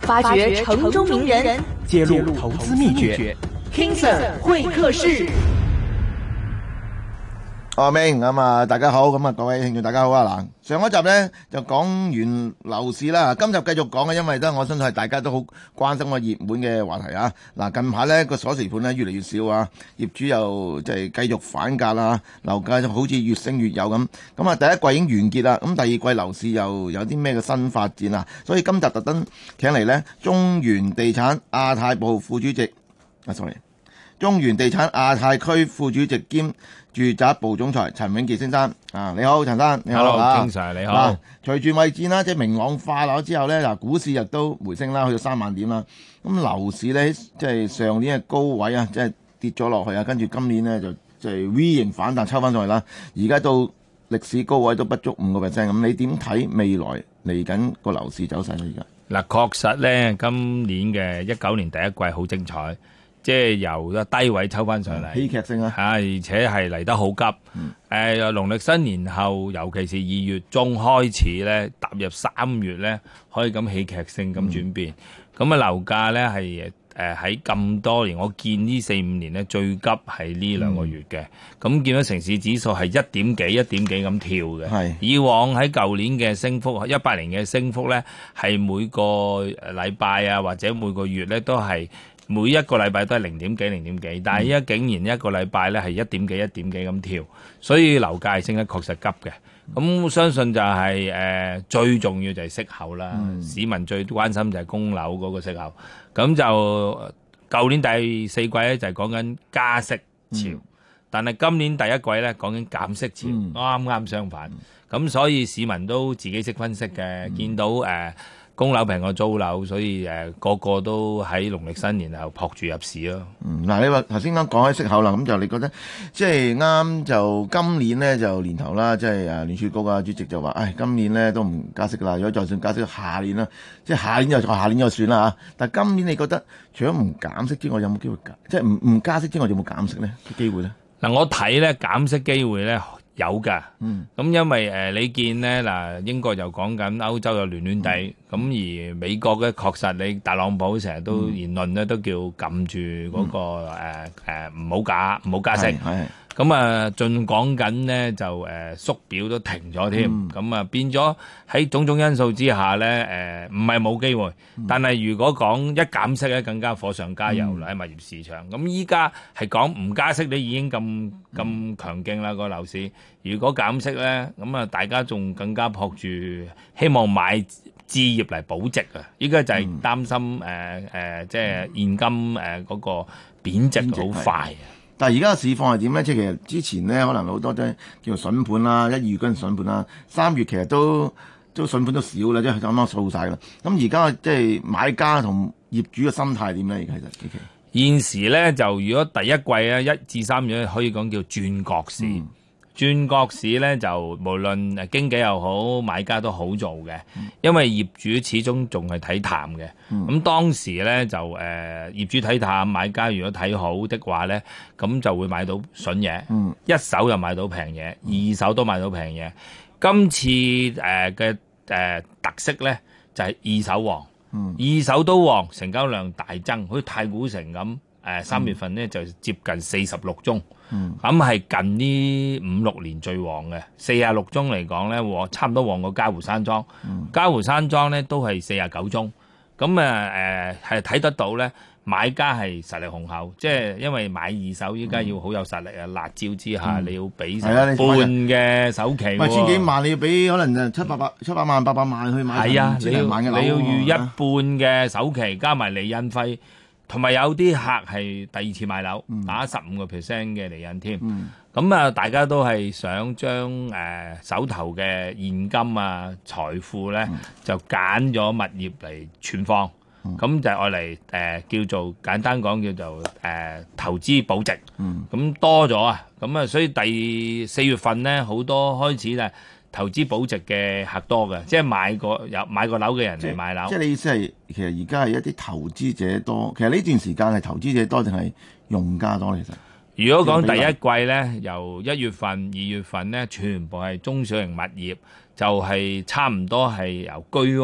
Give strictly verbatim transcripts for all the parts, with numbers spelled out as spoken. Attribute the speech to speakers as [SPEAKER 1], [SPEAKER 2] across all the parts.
[SPEAKER 1] 發掘城中名人，
[SPEAKER 2] 揭露投資秘訣
[SPEAKER 1] King Sir 會客室。
[SPEAKER 3] 阿明咁啊，大家好，咁啊各位聽眾大家好啊。嗱，上一集咧就講完樓市啦，今集繼續講嘅，因為咧我相信係大家都好關心個熱門嘅話題啊。嗱，近排咧個鎖匙盤咧越嚟越少啊，業主又即係繼續反價啦，樓價就好似越升越有咁。咁啊，第一季已經完結啦，咁第二季樓市又有啲咩嘅新發展啊？所以今集特登請嚟咧中原地產亞太部副主席啊，sorry，中原地產亞太區副主席兼住宅部總裁陳永傑先生啊，你好，陳生，你好。
[SPEAKER 4] Hello，King Sir，你好。
[SPEAKER 3] 嗱，隨住貿易戰啦，即係明朗化咗之後咧，嗱，股市亦都回升啦，去到三萬點啦。咁樓市咧，即係上年嘅高位啊，即係跌咗落去啊，跟住今年咧就即係 V 型反彈抽翻上去啦。而家到歷史高位都不足五個 percent，咁你點睇未來嚟緊個樓市走勢咧？而家
[SPEAKER 4] 嗱，確實咧，今年嘅一九年第一季好精彩。即係由個低位抽翻上嚟，
[SPEAKER 3] 戲劇性啊！
[SPEAKER 4] 嚇，而且係嚟得好急。誒、嗯，農曆新年後，尤其是二月中開始咧，踏入三月咧，可以咁戲劇性咁轉變。咁啊、嗯，樓價咧係誒喺咁多年，我見呢四五年咧最急係呢兩個月嘅。咁、嗯、見到城市指數係一點幾、一點幾咁跳嘅。係以往喺舊年嘅升幅，一八年嘅升幅咧，係每個禮拜啊，或者每個月咧都係。每一個禮拜都係零點幾零點幾，但係依家竟然一個禮拜咧係一點幾一點幾咁跳，所以樓價係升得確實急嘅。咁相信就係、是、誒、呃、最重要就係息口啦，嗯、市民最關心就係供樓嗰個息口。咁就舊年第四季咧就係講緊加息潮，嗯、但係今年第一季咧講緊減息潮，啱啱、嗯、相反。咁、嗯、所以市民都自己識分析嘅，嗯、見到誒。呃供樓平過租樓，所以誒、呃、個個都喺農曆新年後撲住入市咯。
[SPEAKER 3] 嗯，嗱，你話頭先啱講起息口啦，咁就你覺得即係啱就今年呢，就年頭啦，即係誒聯儲局啊主席就話，唉，今年呢都唔加息噶啦，如果就算加息，下年啦，即係下年就下年就算啦嚇。但係今年你覺得除咗唔減息之外，有冇機會減？即係唔唔加息之外，有冇減息呢？機會呢？
[SPEAKER 4] 嗱，我睇咧減息機會咧。有噶，咁、嗯、因為誒、呃、你見咧嗱，英國又講緊歐洲又亂亂地，咁、嗯、而美國咧確實你特朗普成日都言論咧都叫撳住嗰個誒誒唔好加唔好加息。咁啊，盡講緊呢，就誒、呃、縮表都停咗添，咁啊、嗯、變咗喺種種因素之下咧，誒唔係冇機會，嗯、但係如果講一減息咧，更加火上加油啦喺、嗯、物業市場。咁依家係講唔加息，你已經咁咁、嗯、強勁啦個樓市。如果減息咧，咁啊大家仲更加撲住希望買置業嚟保值啊！依家就係擔心誒誒、嗯呃，即係現金誒嗰、呃那個貶值好快啊！
[SPEAKER 3] 但係而家嘅市況係點咧？即係其實之前咧，可能好多都叫做筍盤啦，一二月嗰陣筍盤啦，三月其實都都筍盤都少啦，即係啱啱掃晒啦。咁而家即係買家同業主嘅心態點咧？而家其實
[SPEAKER 4] 現時咧就如果第一季啊一至三月可以講叫轉角市。嗯轉角市咧就無論誒經紀又好買家都好做嘅，因為業主始終仲係睇淡嘅。咁、嗯、當時咧就誒、呃、業主睇淡，買家如果睇好的話咧，咁就會買到筍嘢，嗯、一手又買到平嘢，二手都買到平嘢。今次誒嘅誒特色咧就係、是、二手旺，嗯、二手都旺，成交量大增，好似太古城咁。誒三、呃、月份咧就接近四十六宗，咁係、嗯、近呢五六年最旺嘅。四十六宗嚟講咧，旺差唔多旺過嘉湖山莊。嗯、嘉湖山莊咧都係四十九宗，咁啊誒係睇得到咧，買家係實力雄厚，即係因為買二手依家要好有實力啊！嗯、辣椒之下、嗯、你要俾成半嘅首期、啊，
[SPEAKER 3] 唔係千幾萬你要俾可能七百百七百萬八百萬去買，
[SPEAKER 4] 係啊，你要
[SPEAKER 3] 你
[SPEAKER 4] 要預一半嘅首期加埋釐印費。同埋有啲客係第二次買樓，嗯、打十五個 percent 嘅釐印添。咁啊、嗯，大家都係想將誒、呃、手頭嘅現金啊、財富咧，嗯、就揀咗物業嚟存放。咁、嗯、就愛嚟誒叫做簡單講叫做誒、呃、投資保值。咁、嗯、多咗啊，咁啊，所以第四月份咧好多開始咧。投資保值嘅客多嘅，即係買個有買個樓嘅人嚟買樓。即係
[SPEAKER 3] 你意思係，其實而家係一啲投資者多。其實呢段時間係投資者多定係用家多？其實，
[SPEAKER 4] 如果講第一季咧，由一月份、二月份咧，全部係中小型物業，就係、是、差唔多係由居屋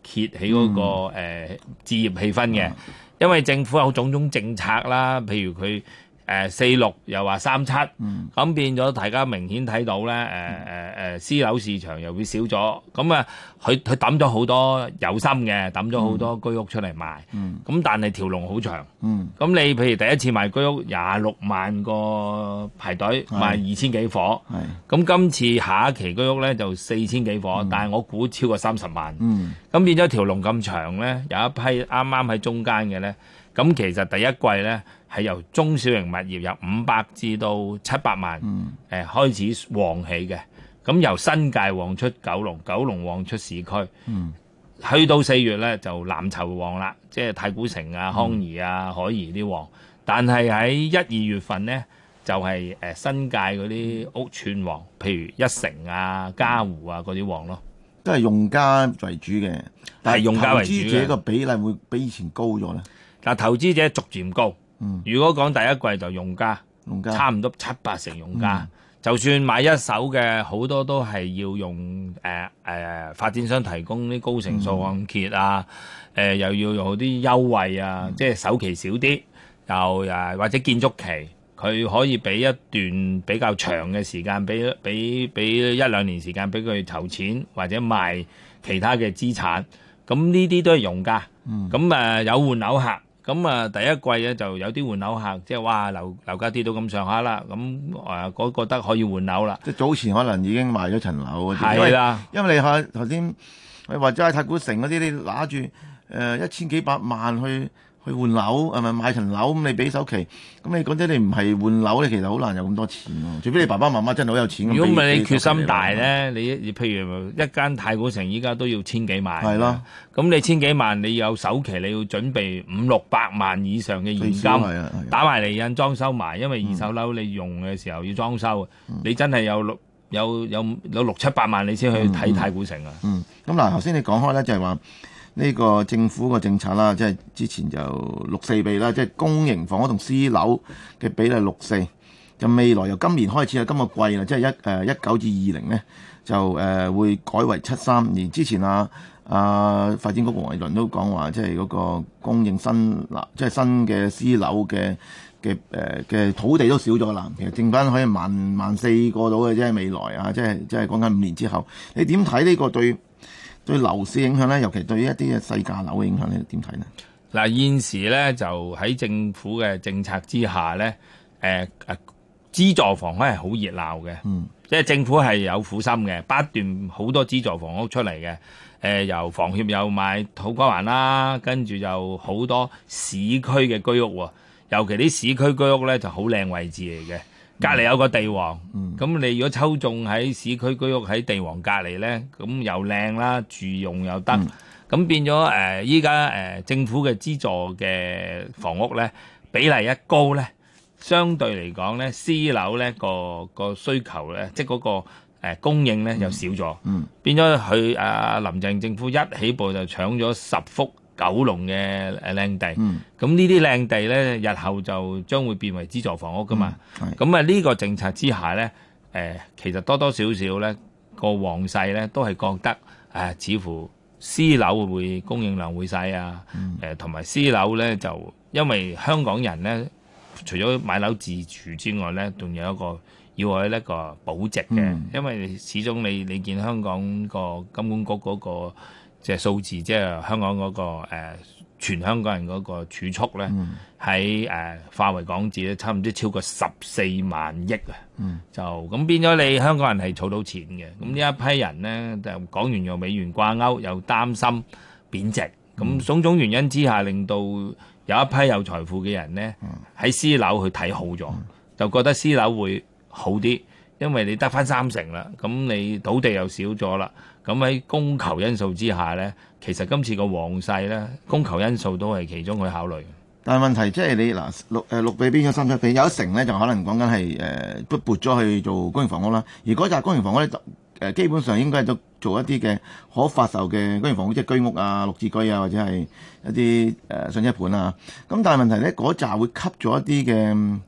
[SPEAKER 4] 揭起嗰、那個誒、
[SPEAKER 3] 嗯
[SPEAKER 4] 呃、置業氣氛嘅，因為政府有種種政策啦，譬如佢。誒四六又話三七，咁、嗯、變咗大家明顯睇到咧，誒誒誒私樓市場又會少咗，咁啊佢佢抌咗好多有心嘅，抌咗好多居屋出嚟賣，咁、嗯、但係條龍好長，咁、嗯、你譬如第一次賣居屋廿六萬個排隊賣二千幾伙，咁今次下一期居屋咧就四千幾伙，嗯、但係我估超過三十萬，咁、嗯、變咗條龍咁長咧，有一批啱啱喺中間嘅咧。咁其實第一季咧係由中小型物業由五百至到七百萬誒、嗯呃、開始旺起嘅，咁由新界旺出九龍，九龍旺出市區，嗯、去到四月咧就藍籌旺啦，即係太古城啊、康怡啊、海怡啲旺，但係喺一二月份咧就係、是呃、新界嗰啲屋邨旺，譬如一城啊、嘉湖啊嗰啲旺咯，
[SPEAKER 3] 都係用家為主嘅，但係
[SPEAKER 4] 用家為主嘅，
[SPEAKER 3] 投資者個比例會比以前高咗咧。
[SPEAKER 4] 嗱，投資者逐漸高。嗯、如果講第一季就用家，
[SPEAKER 3] 用家差
[SPEAKER 4] 唔多七八成用家。嗯、就算買一手嘅，好多都係要用誒誒、呃呃、發展商提供啲高成數按揭啊，誒、嗯呃、又要用啲優惠啊，嗯、即係首期少啲，又誒或者建築期，佢可以俾一段比較長嘅時間，俾俾俾一兩年時間俾佢籌錢或者賣其他嘅資產。咁呢啲都係用家。咁誒、嗯呃、有換樓客。咁啊，第一季咧就有啲換樓客，即係哇樓樓價跌到咁上下啦，咁誒嗰覺得可以換樓啦。
[SPEAKER 3] 即係早前可能已經賣咗層樓嗰啲，
[SPEAKER 4] 係啦，
[SPEAKER 3] 因為你睇頭先或者係太古城嗰啲，你拿住誒一千幾百萬去去換樓，係咪買層樓咁？你俾首期，咁你講真，你唔係換樓咧，其實好難有咁多錢喎。除非你爸爸媽媽真係好有錢。
[SPEAKER 4] 如果唔係你決心大咧，你譬如一間太古城依家都要千幾萬。係咯。咁你千幾萬，你有首期，你要準備五六百萬以上嘅現金，打埋嚟印裝修埋，因為二手樓你用嘅時候要裝修，嗯、你真係有六有有有六七百萬，你先去睇太古城啊。
[SPEAKER 3] 嗯。咁、嗯、嗱，頭、嗯、先你講開咧，就係話。呢個政府個政策啦，即係之前就六四比啦，即係公營房屋同私樓嘅比例六四。就未來由今年開始啊，今個季啦，即係一誒一九至二零咧，就誒、呃、會改為七三。而之前啊啊發展局黃偉綸都講話，即係嗰個供應新嗱，即係新嘅私樓嘅嘅誒嘅土地都少咗啦。其實剩翻可以萬萬四個到嘅啫，未來啊，即係即係講緊五年之後，你點睇呢個對？對樓市影響咧，尤其對於一啲嘅細價樓嘅影響咧，點睇呢？
[SPEAKER 4] 嗱，現時咧就喺政府嘅政策之下咧，誒、呃、誒資助房咧係好熱鬧嘅，嗯，即係政府係有苦心嘅，不斷好多資助房屋出嚟嘅，誒、呃、由房協有買土瓜灣啦，跟住就好多市區嘅居屋喎，尤其啲市區居屋咧就好靚位置嚟嘅。隔離有個地王，咁、嗯、你如果抽中喺市區居屋喺地王隔離咧，咁又靚啦，住用又得，咁、嗯、變咗誒依家誒政府嘅資助嘅房屋咧比例一高咧，相對嚟講咧私樓咧個個需求咧，即係嗰個誒供應咧又少咗，嗯嗯、變咗佢啊林鄭政府一起步就搶咗十幅九龍嘅誒靚地，咁、嗯、呢啲靚地咧，日後就將會變為資助房屋噶嘛。咁啊呢個政策之下咧，誒、呃、其實多多少少咧個旺勢咧都係覺得誒、呃，似乎私樓會供應量會細啊。誒同埋私樓咧就因為香港人咧，除咗買樓自住之外咧，仲有一個要有一個保值嘅，嗯、因為始終你你見香港個金管局嗰、那個。即係數字，即係香港嗰、那個、呃、全香港人嗰個儲蓄咧，喺誒、嗯呃、化為港紙咧，差唔多超過十四萬億啊！嗯、就咁變咗你香港人係儲到錢嘅，咁呢一批人咧就港元又美元掛鈎，又擔心貶值，咁、嗯、種種原因之下，令到有一批有財富嘅人咧喺、嗯、私樓去睇好咗，嗯、就覺得私樓會好啲，因為你得返三成啦，咁你土地又少咗啦。咁喺供求因素之下咧，其實今次個旺勢咧，供求因素都係其中去考慮。
[SPEAKER 3] 但係問題即係你嗱六誒六比變咗三七比，有一成咧就可能講緊係誒都撥咗去做公營房屋啦。而嗰紮公營房屋咧誒基本上應該係都做一啲嘅可發售嘅公營房屋，即係居屋啊、綠置居啊，或者係一啲誒上車盤啊。咁但係問題咧，嗰紮會吸咗一啲嘅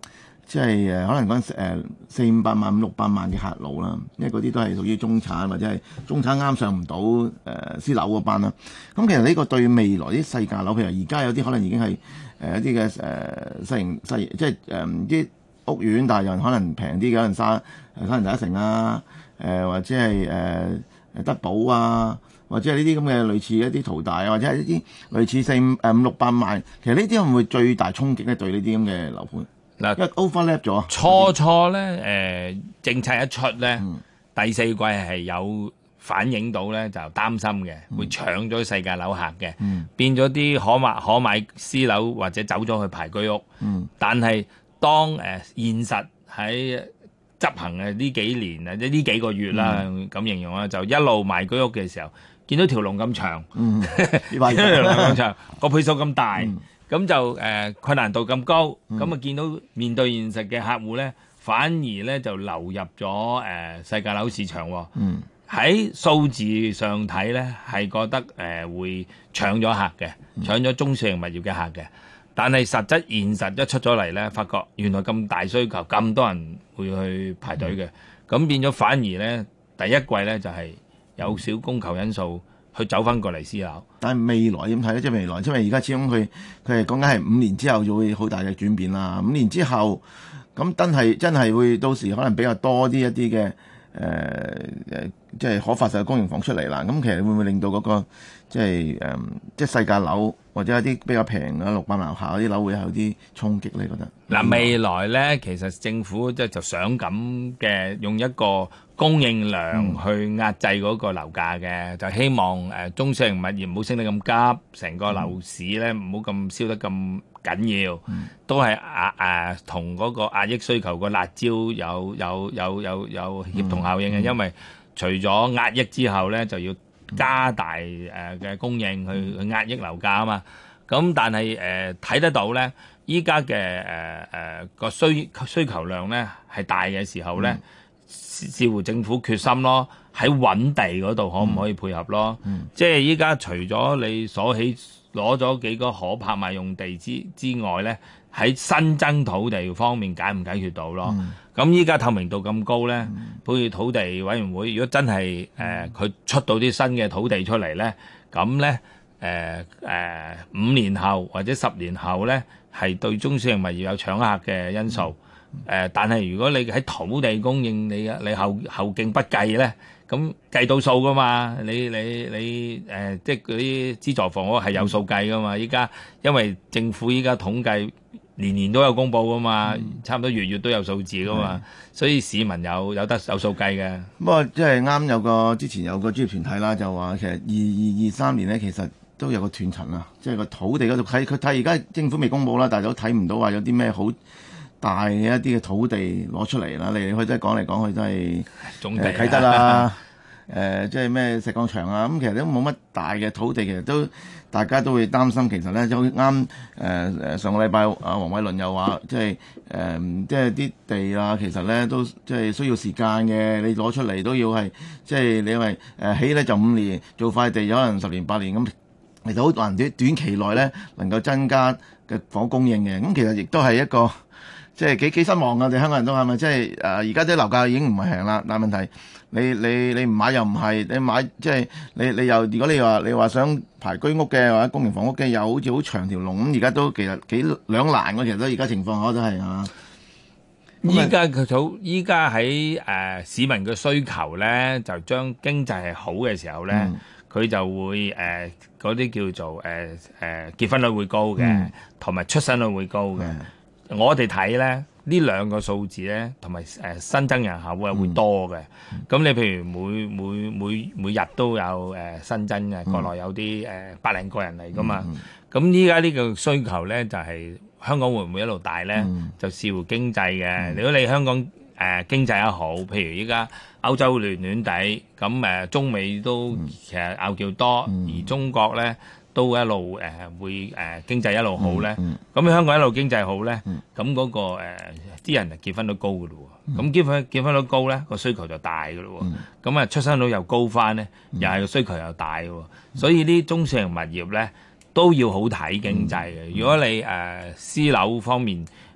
[SPEAKER 3] 即係誒可能講誒四五百萬、五六百萬嘅客路啦，因為嗰啲都係屬於中產或者係中產啱上唔到誒私樓嗰班啦。咁其實呢個對未來啲細價樓，譬如而家有啲可能已經係誒、呃、一啲嘅誒細型細即係誒啲屋苑，但係又可能平啲嘅，可能沙誒沙田第一城啊，誒、呃、或者係誒誒德寶啊。或者係呢啲咁嘅類似一啲淘大啊，或者係一啲類似四五誒五六百萬，其實呢啲會唔會最大衝擊咧？對呢啲咁嘅樓盤嗱，因為 overlap 咗
[SPEAKER 4] 初初咧誒、呃、政策一出咧，嗯、第四季係有反映到咧，就擔心嘅，嗯、會搶咗世界樓客嘅，嗯、變咗啲可買可買私樓或者走咗去排居屋。嗯、但係當誒、呃、現實喺執行嘅呢幾年啊，即呢幾個月啦，咁、嗯、形容啦，就一路賣居屋嘅時候。見到條龍咁長，
[SPEAKER 3] 嗯，
[SPEAKER 4] 見到條龍咁長，個倍數咁大，咁、嗯、就誒、呃、困難度咁高，咁啊、嗯、見到面對現實嘅客戶咧，反而咧就流入咗誒、呃、世界樓市場喎。嗯，喺數字上睇咧，係覺得誒、呃、會搶咗客嘅，搶咗中小型物業嘅客嘅。但係實質現實一出咗嚟咧，發覺原來咁大需求，咁多人會去排隊嘅，咁、嗯、變咗反而咧第一季咧就係、是。有少供求因素去走翻過嚟私樓，
[SPEAKER 3] 但係未來點睇咧？即係未來，因為而家始終佢佢係講緊係五年之後就會好大嘅轉變啦。五年之後，咁真係真係會到時可能比較多啲一啲嘅誒誒，即係可發售嘅公營房出嚟啦。咁其實會唔會令到嗰、那個即係誒、呃、即係細價樓或者一啲比較平嘅六百萬樓下嗰啲樓會有啲衝擊咧？覺得
[SPEAKER 4] 嗱，未來咧其實政府即係就想咁嘅用一個供應量去壓制嗰個樓價嘅，嗯、就希望誒、呃、中小型物業唔好升得咁急，成個樓市咧唔好咁燒得咁緊要，嗯、都係壓誒同嗰個壓抑需求個辣椒有有有有有協同效應嘅，嗯、因為除咗壓抑之後咧，就要加大誒嘅、呃、供應去去壓抑樓價啊嘛。咁但係誒睇得到咧，依家嘅誒誒個需需求量咧係大嘅時候咧。嗯視乎政府決心咯，喺揾地嗰度可唔可以配合咯？嗯、即係依家除咗你所起攞咗幾個可拍賣用地之之外咧，喺新增土地方面解唔解決到咯？咁依家透明度咁高咧，好似、嗯、土地委員會，如果真係誒佢出到啲新嘅土地出嚟咧，咁咧誒誒五年後或者十年後咧，係對中小型物業有搶客嘅因素。嗯誒、呃，但係如果你喺土地供應，你你後後勁不計咧，咁計到數噶嘛？你你你誒、呃，即係嗰啲資助房屋係有數計噶嘛？依家因為政府依家統計年年都有公佈噶嘛，嗯、差唔多月月都有數字噶嘛，嗯、所以市民有有得有數計嘅。
[SPEAKER 3] 不過即係啱有個之前有個專業團體啦，就話其實二二二三年咧，其實都有個斷層啊，即係個土地嗰度睇佢睇而家政府未公佈啦，但係都睇唔到話有啲咩好大嘅一啲嘅土地攞出嚟啦，嚟嚟去都係講嚟講去都係
[SPEAKER 4] 總地
[SPEAKER 3] 啟德啦，誒即係咩石礦場啊，咁其實都冇乜大嘅土地，其實都大家都會擔心。其實咧就啱誒誒上個禮拜啊，黃偉綸又話即係誒即係啲地啊，其實咧都即係需要時間嘅，你攞出嚟都要係即係你因為誒起咧就五年，做塊地可能十年八年咁，其實好難短短期內咧能夠增加嘅房屋供應嘅。咁其實亦都係一個。即係幾幾失望㗎，我哋香港人都係咪？即係誒，而家啲樓價已經唔係平啦，但係問題你你你唔買又唔係，你買即係你你又如果你話你話想排居屋嘅或者公營房屋嘅，又好似好長條龍咁，而家都其實幾兩難㗎，其實都而家情況我都係啊。
[SPEAKER 4] 依家佢好，依家喺誒市民嘅需求咧，就將經濟係好嘅時候咧，佢、嗯、就會誒嗰啲叫做誒誒、呃呃、結婚率會高嘅，同埋、嗯、出生率會高嘅。嗯我哋睇咧呢兩個數字咧，同埋誒新增人口會會多嘅。咁、嗯、你譬如每每每每日都有誒、呃、新增嘅，國內有啲誒、呃、百零個人嚟噶嘛。咁依家呢個需求咧就係、是、香港會唔會一路大咧？嗯、就視乎經濟嘅。嗯、如果你香港誒、呃、經濟一好，譬如依家歐洲暖暖地，咁誒、呃、中美都其實拗撬多，嗯、而中國咧。都一路誒、呃、會誒、呃、經濟一路好咧，咁、嗯嗯、香港一路經濟好咧，咁嗰、嗯那個誒啲、呃、人就結婚率高嘅咯喎，咁、嗯、結婚結婚率高咧，個需求就大嘅咯喎，咁啊、嗯、出生率又高翻咧，嗯、又係個需求又大嘅喎，嗯、所以啲中小型物業咧都要好睇經濟嘅。嗯、如果你誒、呃、私樓方面誒、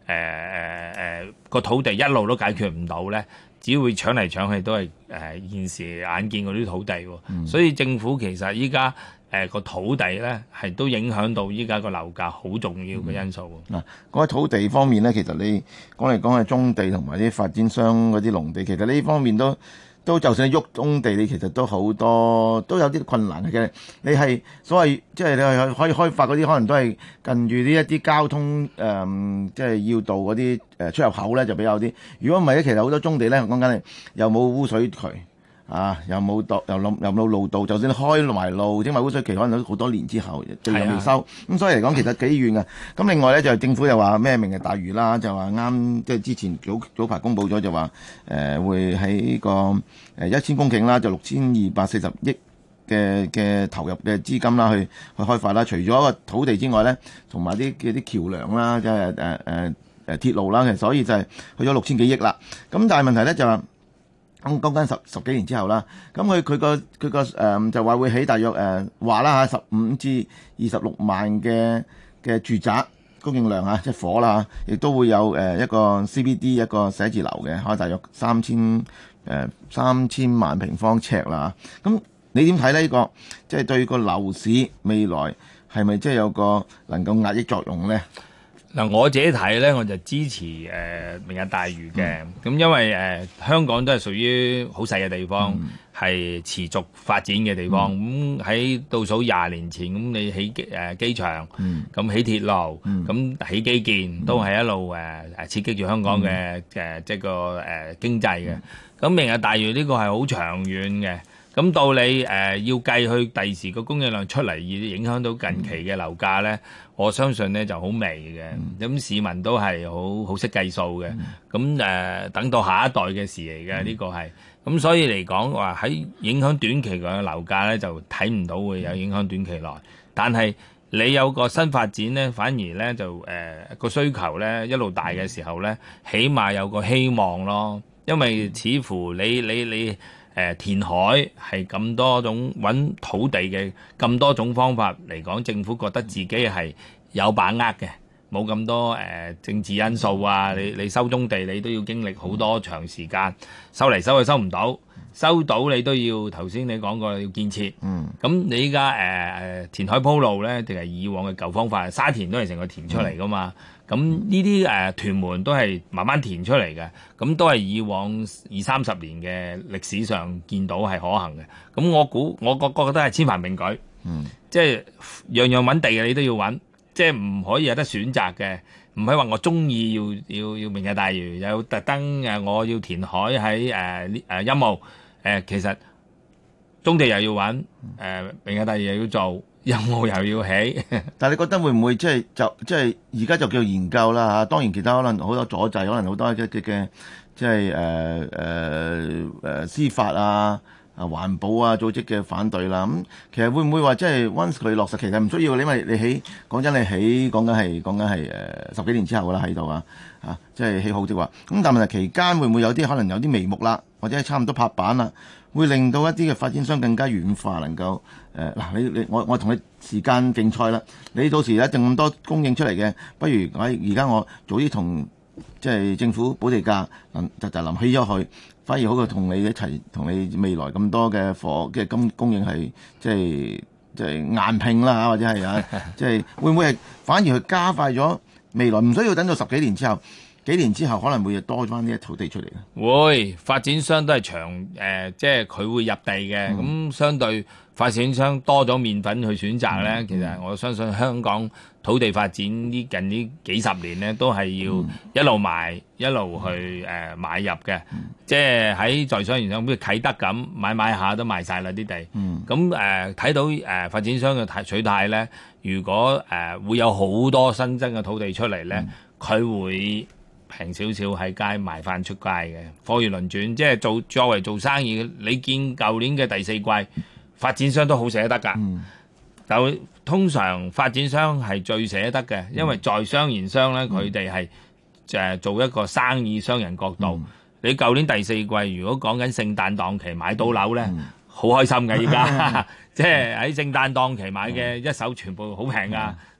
[SPEAKER 4] 誒誒個土地一路都解決唔到咧，只會搶嚟搶去都係誒、呃、現時眼見嗰啲土地喎。嗯、所以政府其實依家誒個土地咧係都影響到依家個樓價好重要嘅因素。嗱、
[SPEAKER 3] 嗯，嗰、啊、土地方面咧，其實你講嚟講係棕地同埋啲發展商嗰啲農地，其實呢方面都。都就算喐棕地，你其實都好多都有啲困難嘅。你係所謂即係你係可以開發嗰啲，可能都係近住呢一啲交通誒、呃，即係要道嗰啲誒出入口咧，就比較啲。如果唔係咧，其實好多棕地咧，講緊係又冇污水渠啊，又冇道，又冇又冇路道。就算開埋路，整埋污水渠，可能都好多年之後，地又未收。咁、啊、所以嚟講，其實幾遠嘅。咁另外咧，就政府又話咩明日大嶼啦，就話啱即係之前早早排公佈咗，就話誒、呃、會喺個誒一千公頃啦，就六千二百四十億嘅嘅投入嘅資金啦，去去開發啦。除咗個土地之外咧，同埋啲嘅啲橋梁啦，即係誒誒誒鐵路啦，其實所以就係去咗六千幾億啦。咁但係問題咧就話。咁講緊十十幾年之後啦，咁佢佢個佢個誒就話會起大約誒話啦嚇十五至二十六萬嘅嘅住宅供應量嚇，即係火啦嚇，亦都會有誒一個 C B D 一個寫字樓嘅，開大約三千誒三千萬平方尺啦。咁你點睇呢？呢個即係對個樓市未來係咪即係有個能夠壓抑作用咧？
[SPEAKER 4] 嗱，我自己睇咧，我就支持誒、呃、明日大嶼嘅。咁、嗯、因為誒、呃、香港都係屬於好細嘅地方，係、嗯、持續發展嘅地方。咁喺、嗯、倒數廿年前，咁你起誒、呃、機場，咁、嗯、起鐵路，咁、嗯、起基建，都係一路誒誒刺激住香港嘅誒即係個誒經濟嘅。咁、嗯、明日大嶼呢個係好長遠嘅。咁到你誒、呃、要計去第時個供應量出嚟，而影響到近期嘅樓價咧，嗯、我相信咧就好微嘅。咁、嗯、市民都係好好識計數嘅。咁誒、嗯呃、等到下一代嘅事嚟嘅呢個係。咁所以嚟講話喺影響短期嘅樓價咧，就睇唔到會有影響短期內。但係你有個新發展咧，反而咧就誒個、呃、需求咧一路大嘅時候咧，起碼有個希望咯。因為似乎你你你。你你誒、呃、填海係咁多種揾土地嘅咁多種方法嚟講，政府覺得自己係有把握嘅，冇咁多誒、呃、政治因素啊！你你收棕地，你都要經歷好多長時間，收嚟收去收唔到，收到你都要頭先你講過要建設。嗯，咁你依家誒誒填海鋪路咧，定係以往嘅舊方法？沙田都係成個填出嚟噶嘛？咁呢啲誒屯門都係慢慢填出嚟嘅，咁都係以往二三十年嘅歷史上見到係可行嘅。咁我估我覺覺得係千繁並舉，嗯，即係樣樣揾地嘅你都要揾，即係唔可以有得選擇嘅，唔係話我中意要要要明日大嶼，有特登誒我要填海喺誒誒陰澳誒，其實棕地又要揾，誒、呃、明日大嶼又要做。有冇又要起？
[SPEAKER 3] 但係你覺得會唔會即係就即係而家就叫研究啦嚇？當然其他可能好多阻滯，可能好多嘅嘅即係誒誒誒司法啊、啊環保啊組織嘅反對啦。咁、嗯、其實會唔會話即係 once 佢落實，其實唔需要，因為你起講真，你起講緊係講緊係誒十幾年之後啦喺度啊嚇，即係起好啲話。咁但係問題期間會唔會有啲可能有啲眉目啦，或者係差唔多拍板啦？會令到一啲嘅發展商更加軟化，能夠誒嗱、呃，你你我我同你時間競賽啦。你到時有咁多供應出嚟嘅，不如我而家我早啲同即係政府補地價，就就臨起咗佢，反而好過同你一齊同你未來咁多嘅貨嘅供供應係即係即係硬拼啦，或者係啊，即係會唔會係反而去加快咗未來？唔需要等到十幾年之後。幾年之後可能會多翻呢一土地出嚟嘅，
[SPEAKER 4] 會發展商都係長誒、呃，即係佢會入地嘅。咁、嗯、相對發展商多咗麵粉去選擇咧，嗯、其實我相信香港土地發展呢近呢幾十年咧，都係要一路賣、嗯、一路去誒、呃、買入嘅。嗯、即係喺在商言商，好似啟德咁買買下都賣晒啦啲地。咁誒睇到誒、呃、發展商嘅取態咧，如果誒、呃、會有好多新增嘅土地出嚟咧，佢、嗯、會。平少少喺街賣翻出街嘅，貨如輪轉，即係做作為做生意，你見舊年嘅第四季發展商都好捨得㗎。嗯、就通常發展商係最捨得嘅，因為在商言商咧，佢哋係誒做一個生意商人角度。嗯、你舊年第四季如果講緊聖誕檔期買到樓咧，好、嗯、開心嘅依家，即係喺聖誕檔期買嘅一手全部好平㗎。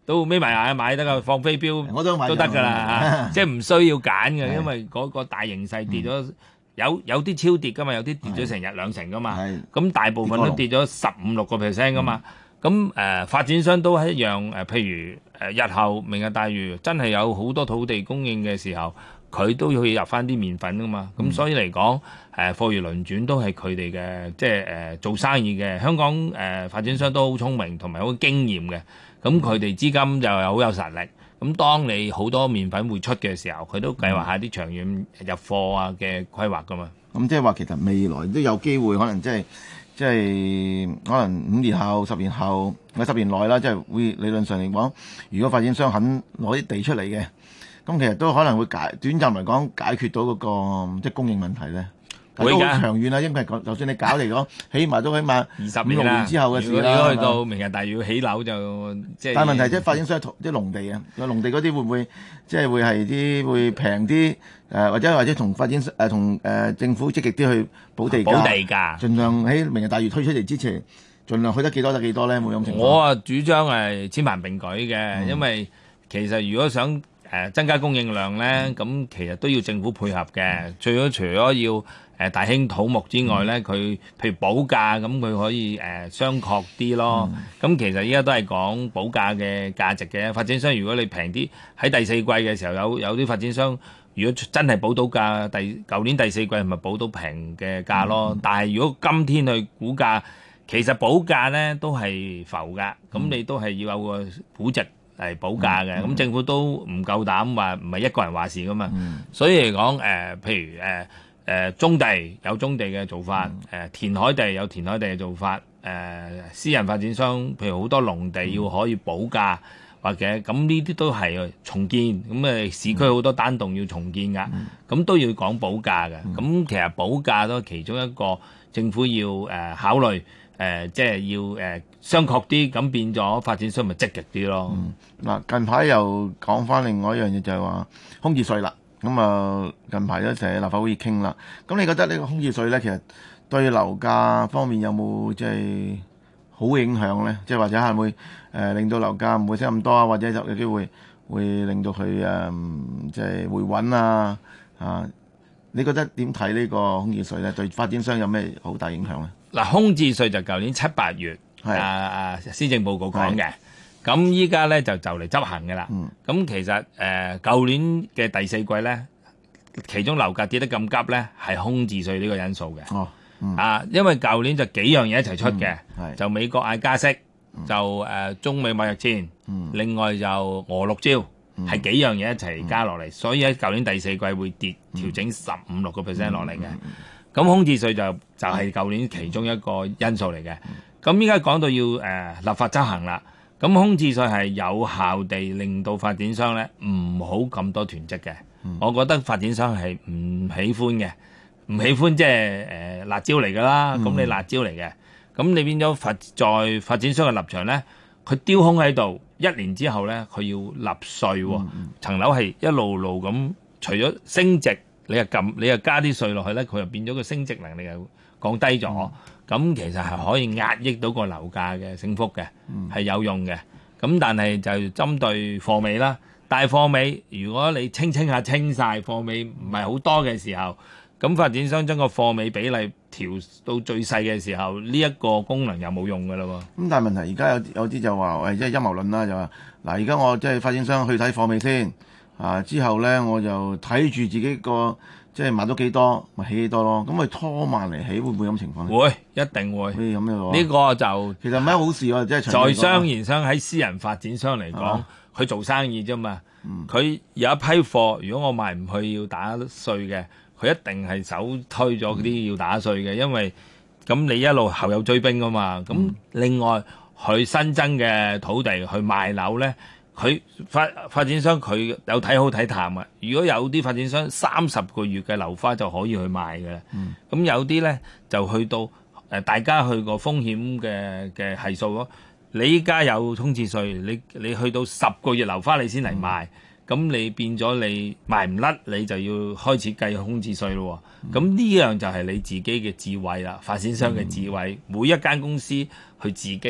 [SPEAKER 4] 都眯埋眼買得㗎，放飛鏢
[SPEAKER 3] 我都買
[SPEAKER 4] 都得㗎啦，即係唔需要揀嘅，因為嗰個大形勢跌咗。
[SPEAKER 3] 嗯
[SPEAKER 4] 有有啲超跌噶嘛，有啲跌咗成日兩成噶嘛，咁大部分都跌咗十五六個 percent 噶嘛。咁誒、呃、發展商都係一樣誒、呃，譬如誒、呃、日後明日大嶼真係有好多土地供應嘅時候，佢都要入翻啲麵粉噶嘛。咁、嗯、所以嚟講誒貨如輪轉都係佢哋嘅，即係誒、呃、做生意嘅香港誒、呃、發展商都好聰明同埋好經驗嘅，咁佢哋資金就有好有實力。咁當你好多麵粉會出嘅時候，佢都計劃下啲長遠入貨啊嘅規劃噶嘛。
[SPEAKER 3] 咁即係話其實未來都有機會，可能即係即係可能五年後、十年後、或者十年內啦，即係會理論上嚟講，如果發展商肯攞啲地出嚟嘅，咁其實都可能會解短暫嚟講解決到嗰個即係供應問題咧。會㗎，長遠啦，因為就算你搞嚟講，起碼都起碼
[SPEAKER 4] 二十
[SPEAKER 3] 五六年之後嘅事啦。
[SPEAKER 4] 如果去到明日大嶼起樓就即係。
[SPEAKER 3] 但係問題即係發展商啲農地啊，個農地嗰啲會唔會即係會係啲會平啲誒，或者或者同發展誒同誒政府積極啲去補地價，
[SPEAKER 4] 補地價，
[SPEAKER 3] 盡量喺明日大嶼推出嚟之前，盡量去得幾多得幾多咧？冇咁情況。
[SPEAKER 4] 我啊主張係千萬並舉嘅，嗯、因為其實如果想誒增加供應量咧，咁、嗯、其實都要政府配合嘅。嗯、最咗除咗要誒大興土木之外咧，佢、嗯、譬如補價，咁佢可以誒相確啲咯。咁、嗯、其實依家都係講補價嘅價值嘅。發展商如果你平啲，喺第四季嘅時候有有啲發展商，如果真係補到價，第舊年第四季係咪補到平嘅價咯？嗯、但係如果今天去估價，其實補價咧都係浮㗎，咁、嗯、你都係要有個估值嚟補價嘅。咁、嗯、政府都唔夠膽話唔係一個人話事㗎嘛。嗯、所以嚟講誒，譬如誒。呃誒棕、呃、地有棕地嘅做法，誒、呃、填海地有填海地嘅做法，誒、呃、私人發展商譬如好多農地要可以補價，嗯、或者咁呢啲都係重建，咁誒市區好多單棟要重建㗎，咁、嗯、都要講補價嘅。咁、嗯、其實補價都係其中一個政府要誒、呃、考慮，誒、呃、即係要誒相確啲，咁變咗發展商咪積極啲咯。嗱、
[SPEAKER 3] 嗯、近排又講翻另外一樣嘢就係話空置稅啦。咁啊，近排都成日立法會傾啦。咁你覺得呢個空置稅咧，其實對樓價方面有冇即係好影響咧？即係或者係會誒令到樓價唔會升咁多啊？或者就有機會會令到佢誒即係回穩啊？啊，你覺得點睇呢個空置稅咧？對發展商有咩好大影響咧？
[SPEAKER 4] 嗱，空置稅就舊年七八月啊啊施政報告講嘅。咁依家咧就就嚟執行嘅啦。咁、嗯、其實誒舊、呃、年嘅第四季咧，其中樓價跌得咁急咧，係空置稅呢個因素嘅。哦嗯、啊，因為舊年就幾樣嘢一齊出嘅，嗯、就美國嗌加息，嗯、就誒、呃、中美貿易戰，嗯、另外就俄六招，係、嗯、幾樣嘢一齊加落嚟，嗯、所以喺舊年第四季會跌調整十五六個 percent 落嚟嘅。咁、嗯嗯、空置稅就就係、是、舊年其中一個因素嚟嘅。咁依家講到要誒、呃、立法執行啦。咁空置稅係有效地令到發展商咧唔好咁多囤積嘅，嗯、我覺得發展商係唔喜歡嘅，唔喜歡即係誒辣椒嚟噶啦，咁、嗯、你辣椒嚟嘅，咁你變咗發在發展商嘅立場咧，佢丟空喺度，一年之後咧佢要納稅喎，嗯、層樓係一路路咁，除咗升值，你又撳你又加啲稅落去咧，佢又變咗個升值能力又降低咗。嗯咁其實係可以壓抑到個樓價嘅升幅嘅，係、嗯、有用嘅。咁但係就針對貨尾啦，大貨尾如果你清清下清晒貨尾唔係好多嘅時候，咁發展商將個貨尾比例調到最細嘅時候，呢、這、一個功能又冇用㗎啦喎。咁
[SPEAKER 3] 但係問題而家有有啲就話，喂，即係陰謀論啦，就話嗱，而家我即係發展商去睇貨尾先，啊之後咧我就睇住自己個。即係買到幾多，咪起幾多咯。咁佢拖慢嚟起，會唔會咁情況咧？
[SPEAKER 4] 會，一定會。
[SPEAKER 3] 會咁樣喎。
[SPEAKER 4] 呢個就
[SPEAKER 3] 其實唔係好事喎，即係
[SPEAKER 4] 在商言商喺私人發展商嚟講，佢、啊、做生意啫嘛。佢、嗯、有一批貨，如果我賣唔去要打稅嘅，佢一定係首推咗啲要打稅嘅，嗯、因為咁你一路後有追兵噶嘛。咁、嗯、另外佢新增嘅土地去賣樓咧。佢發發展商佢有睇好睇淡啊！如果有啲發展商三十個月嘅樓花就可以去賣嘅，咁、嗯、有啲咧就去到誒、呃、大家去個風險嘅嘅係數咯。你依家有空置稅，你你去到十個月樓花你先嚟賣，咁、嗯、你變咗你賣唔甩，你就要開始計空置稅咯。咁呢、嗯、樣就係你自己嘅智慧啦，發展商嘅智慧，嗯、每一間公司去自己去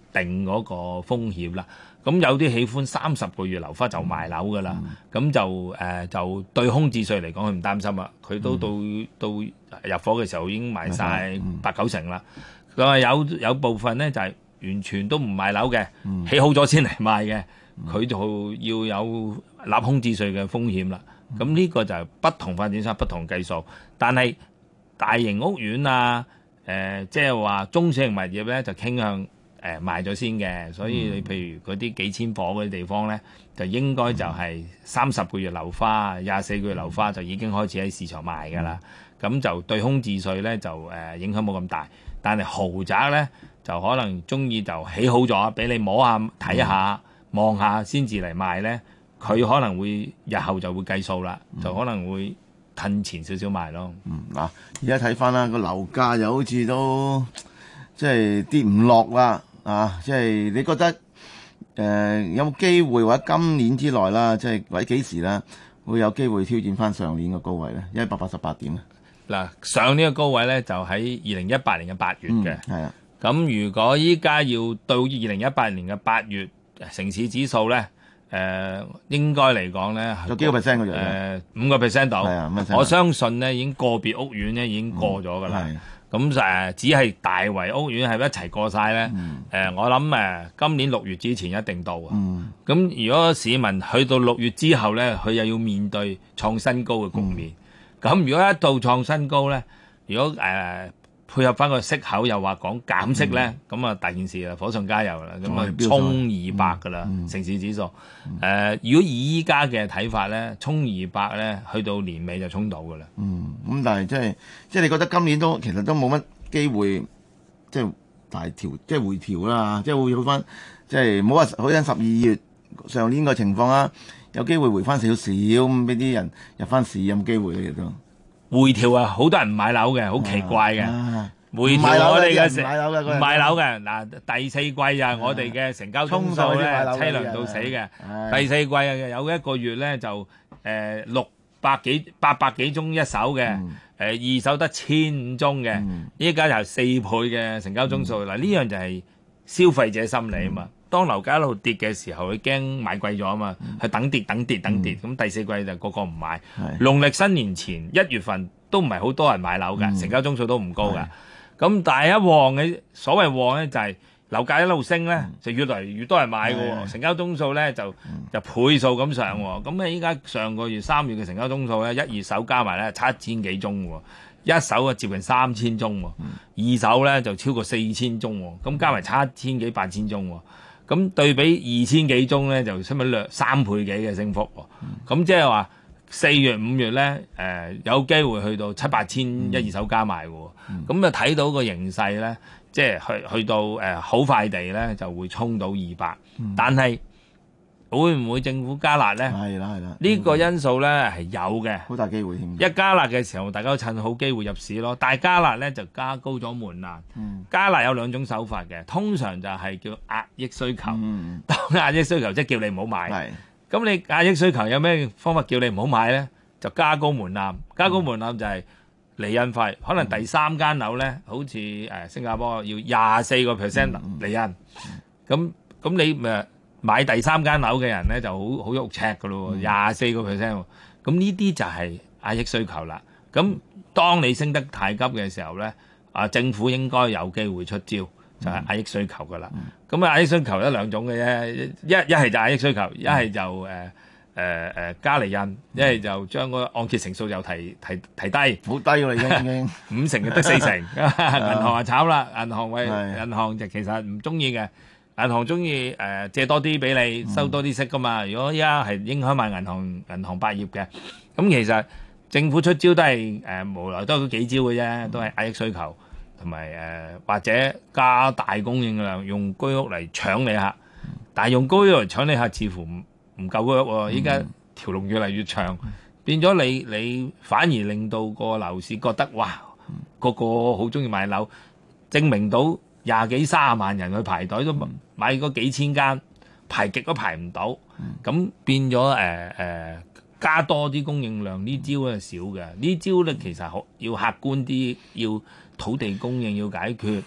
[SPEAKER 4] 定嗰個風險啦。咁有啲喜歡三十個月樓花就賣樓㗎啦，咁、嗯、就誒、呃、就對空置稅嚟講佢唔擔心啦，佢都到、嗯、到入伙嘅時候已經賣晒八九成啦。佢話、嗯、有有部分咧就係、是、完全都唔賣樓嘅，嗯、起好咗先嚟賣嘅，佢、嗯、就要有納空置稅嘅風險啦。咁呢、嗯、個就係不同發展商不同計數，但係大型屋苑啊，誒即係話中小型物業咧就傾向。誒、呃、賣咗先嘅，所以你譬如嗰啲幾千伙嗰啲地方咧，就應該就係三十個月樓花、廿四個月樓花就已經開始喺市場賣㗎啦。咁、嗯、就對空置稅咧就誒、呃、影響冇咁大，但係豪宅咧就可能中意就起好咗，俾你摸下睇下望下先至嚟賣咧，佢可能會日後就會計數啦，嗯、就可能會褪前少少賣咯。
[SPEAKER 3] 嗯嗱，而家睇翻啦，個樓價又好似都即係跌唔落啦。啊，即係你覺得誒、呃、有冇機會或者今年之內啦，即係或者幾時啦，會有機會挑戰翻上年嘅高位咧？一百八十八點咧。嗱，
[SPEAKER 4] 上年嘅高位咧就喺二零一八年嘅八月嘅。係啊、嗯。咁如果依家要到二零一八年嘅八月，城市指數咧誒、呃、應該嚟講咧有幾個 percent 嘅啫？誒五個 percent 度。係啊，我相信咧已經個別屋苑咧已經過咗㗎啦。係、嗯。咁誒、呃、只係大圍屋苑係一齊過晒咧？誒、嗯呃，我諗誒、呃、今年六月之前一定到啊。咁、嗯、如果市民去到六月之後咧，佢又要面對創新高嘅局面。咁、嗯、如果一到創新高咧，如果誒、呃、配合翻個息口又話講減息咧，咁啊、嗯、大件事啦，火上加油啦，咁啊衝二百噶啦，嗯嗯、城市指數。誒、呃，如果以依家嘅睇法咧，衝二百咧，去到年尾就衝到噶啦。嗯，咁但係即係即係你覺得今年都其實都冇乜機會，即係大調，即係回調啦，即係會好翻，即係唔好話好似十二月上年個情況啦，有機會回翻少少咁，俾啲人入翻市有冇機會嘅都？回調啊，好多人唔買樓嘅，好奇怪嘅。啊、回調我哋嘅成唔買樓嘅嗱，第四季啊，我哋嘅成交宗數咧凄涼到死嘅。第四季啊，有一個月咧就誒六百幾八百幾宗一手嘅，誒、嗯呃、二手得千五宗嘅。依家、嗯、就係四倍嘅成交宗數。嗱、嗯，呢樣就係消費者心理啊嘛。嗯、當樓價一路跌嘅時候，佢驚買貴咗啊嘛，佢、嗯、等跌等跌等跌。咁、嗯、第四季就個個唔買。農曆新年前一月份都唔係好多人買樓㗎，嗯、成交宗數都唔高㗎。咁是但係一旺嘅所謂旺咧，就係樓價一路升咧，嗯、就越嚟越多人買㗎喎，是成交宗數咧就就倍數咁上喎。咁咧依家上個月三月嘅成交宗數咧，一二手加埋咧七千幾宗喎，一手啊接近三千宗喎，嗯、二手咧就超過四千宗喎，咁加埋七千幾八千宗喎。咁對比二千幾宗咧，就差唔多兩三倍幾嘅升幅喎。咁即係話四月五月咧，誒、呃、有機會去到七八千一二手加埋喎。咁啊睇到個形勢咧，即係去去到誒好、呃、快地咧就會衝到二百、嗯。但係會唔會政府加辣咧？係啦係啦，呢個因素咧係有嘅，好大機會添。一加辣嘅時候，大家都趁好機會入市咯。但係加辣咧就加高咗門檻。嗯、加辣有兩種手法嘅，通常就係叫壓抑需求。嗯、當壓抑需求即係叫你唔好買。咁你壓抑需求有咩方法叫你唔好買咧？就加高門檻，加高門檻就係釐印費。可能第三間樓咧，好似誒新加坡要廿四個 percent 釐印。咁咁你咪買第三間樓嘅人咧就好好肉赤噶咯喎，廿四個 percent。咁呢啲就係壓抑需求啦。咁當你升得太急嘅時候咧，啊政府應該有機會出招。就係壓抑需求噶啦，咁啊、嗯、壓抑需求有兩種嘅啫，一一係就壓抑需求，一係就誒誒誒加釐印，一係就將個按揭成數又提提提低，好低㗎啦已經，已經五成就得四成，銀行啊炒啦，銀行為銀行就其實唔中意嘅，銀行中意誒借多啲俾你，收多啲息噶嘛。如果依家係影響埋銀行銀行百業嘅，咁其實政府出招都係誒無來都幾招嘅啫，都係壓抑需求。同埋誒或者加大供應量，用居屋嚟搶你客，但係用居屋嚟搶你客似乎唔唔夠居屋喎。依家條龍越嚟越長，變咗你你反而令到個樓市覺得哇，個個好中意買樓，證明到廿幾三十萬人去排隊都買嗰幾千間，排極都排唔到，咁變咗誒誒加多啲供應量呢招係少嘅，呢招咧其實好要客觀啲要。土地供應要解決，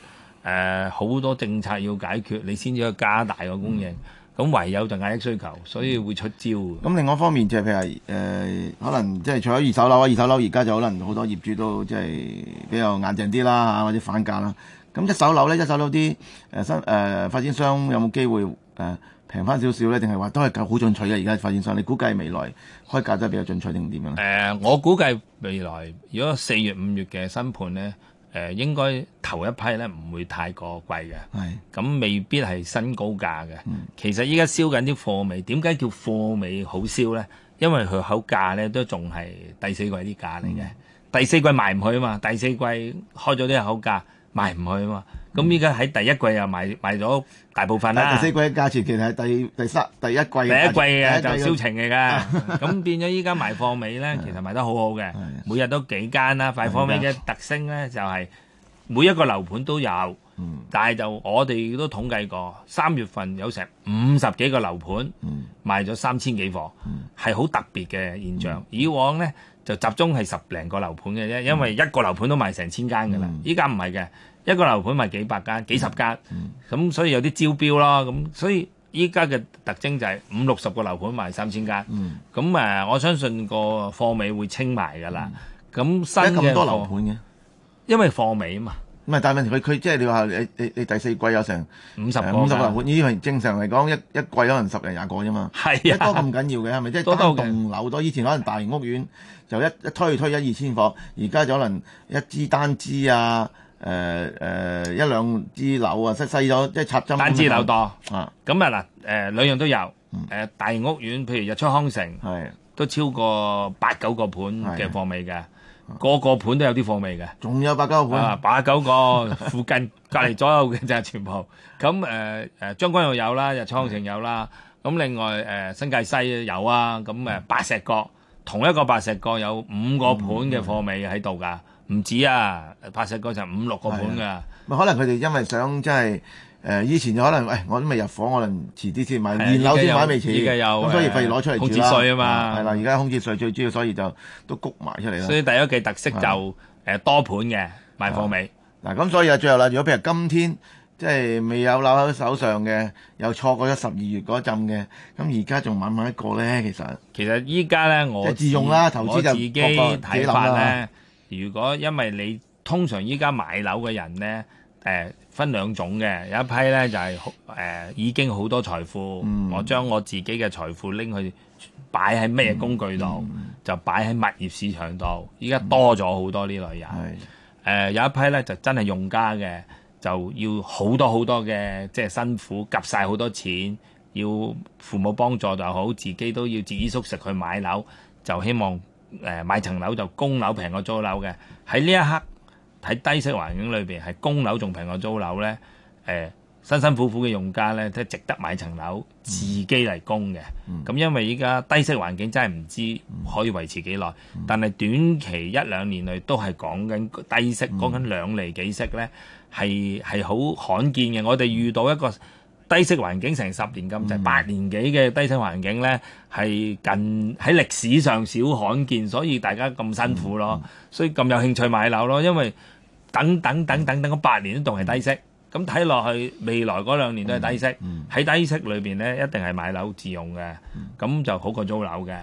[SPEAKER 4] 誒好多政策要解決，你先至可以加大個供應。咁、嗯、唯有就壓抑需求，所以會出招。
[SPEAKER 3] 咁另外一方面就係譬如誒、呃，可能即係除咗二手樓啊，二手樓而家就可能好多業主都即係比較硬淨啲啦嚇，或者反價啦。咁一手樓咧，一手樓啲誒新誒發展商有冇機會誒平翻少少咧？定係話都係夠好進取嘅？而家發展商，你估計未來開價都係比較進取定點樣？誒、
[SPEAKER 4] 呃，我估計未來如果四月五月嘅新盤咧。誒、呃、應該頭一批咧唔會太過貴嘅，咁未必係新高價嘅、嗯。其實依家燒緊啲貨尾，點解叫貨尾好燒咧？因為佢口價咧都仲係第四季啲價嚟嘅、嗯，第四季賣唔去啊嘛，第四季開咗啲口價賣唔去啊嘛。咁依家喺第一季又賣賣咗大部分啦。
[SPEAKER 3] 第四季嘅價錢其實係第第三第一季嘅。
[SPEAKER 4] 第一季嘅就銷情嚟㗎，咁變咗依家賣貨尾咧，其實賣得好好嘅，每日都幾間啦。賣貨尾嘅特徵咧就係、是、每一個樓盤都有，嗯、但係就我哋都統計過，三月份有成五十幾個樓盤、嗯、賣咗三千幾貨，係、嗯、好特別嘅現象。嗯、以往咧就集中係十零個樓盤嘅啫，因為一個樓盤都賣成千間㗎啦。依家唔係嘅。一個樓盤賣幾百間、幾十間，咁、嗯、所以有啲招標咯。咁所以依家嘅特徵就係五六十個樓盤賣三千間。咁、嗯、誒，我相信個貨尾會清埋㗎啦。咁、嗯、新嘅
[SPEAKER 3] 咁多樓盤嘅，
[SPEAKER 4] 因為貨尾啊嘛。
[SPEAKER 3] 唔係，但係問題佢佢即係你話你你你第四季有成
[SPEAKER 4] 五十個
[SPEAKER 3] 五十個樓盤，呢啲正常嚟講一一季可能十零廿個啫嘛。係啊，多咁緊要嘅係咪？即係單棟樓多，以前可能大型屋苑就一一推推一二千伙，而家就可能一支單支啊。誒、呃、誒、呃、一兩支樓啊，細細咗即係插針。
[SPEAKER 4] 單支樓多啊，咁啊嗱誒兩樣都有。誒、嗯、大型屋苑，譬如日出康城，係都超過八九個盤嘅貨尾嘅，個個盤都有啲貨尾嘅。仲有八九個盤啊，八九個附近隔離左右嘅就係全部。咁誒誒將軍澳有啦，日出康城有啦。咁另外誒、呃、新界西有啊。咁誒白石角同一個白石角有五個盤嘅貨尾喺度㗎。唔止啊，白石角就五六個盤㗎。
[SPEAKER 3] 可能佢哋因為想即係誒以前就可能，喂、哎、我都未入伙，可能遲啲先買，現樓先買未遲。而家有咁所以費事攞出嚟住啦。空置稅啊嘛，係啦，而家空置稅最主要，所以就都谷埋出嚟啦。
[SPEAKER 4] 所以第一季特色就誒、呃、多盤嘅賣貨尾。
[SPEAKER 3] 嗱咁所以啊，最後啦，如果譬如今天即係未有樓喺手上嘅，又錯過咗十二月嗰陣嘅，咁而家仲買唔買一個咧？其實
[SPEAKER 4] 其實依家咧，我
[SPEAKER 3] 自用啦，投資就
[SPEAKER 4] 自己睇法咧。如果因為你通常依家買樓嘅人呢，誒、呃、分兩種嘅，有一批呢就係、是、誒、呃、已經好多財富，嗯、我將我自己嘅財富拎去擺喺咩工具度、嗯，就擺喺物業市場度。依家多咗好多呢類人，誒、嗯呃、有一批呢就真係用家嘅，就要好多好多嘅即係辛苦，夾晒好多錢，要父母幫助就好，自己都要節衣縮食去買樓，就希望。誒、呃、買層樓就供樓平過租樓嘅，喺呢一刻喺低息環境裏邊係供樓仲平過租樓咧，誒、呃、辛辛苦苦嘅用家咧都值得買層樓自己嚟供嘅。咁、嗯、因為依家低息環境真係唔知可以維持幾耐、嗯，但係短期一兩年內都係講緊低息，講緊兩厘幾息咧，係係好罕見嘅。我哋遇到一個低息環境成十年咁滯，八、就是、年幾嘅低息環境咧，係近喺歷史上少罕見，所以大家咁辛苦咯，嗯、所以咁有興趣買樓咯。因為等等等等等嗰八年都仲係低息，咁睇落去未來嗰兩年都係低息，喺、嗯嗯、低息裏邊咧一定係買樓自用嘅，咁、嗯、就好過租樓嘅。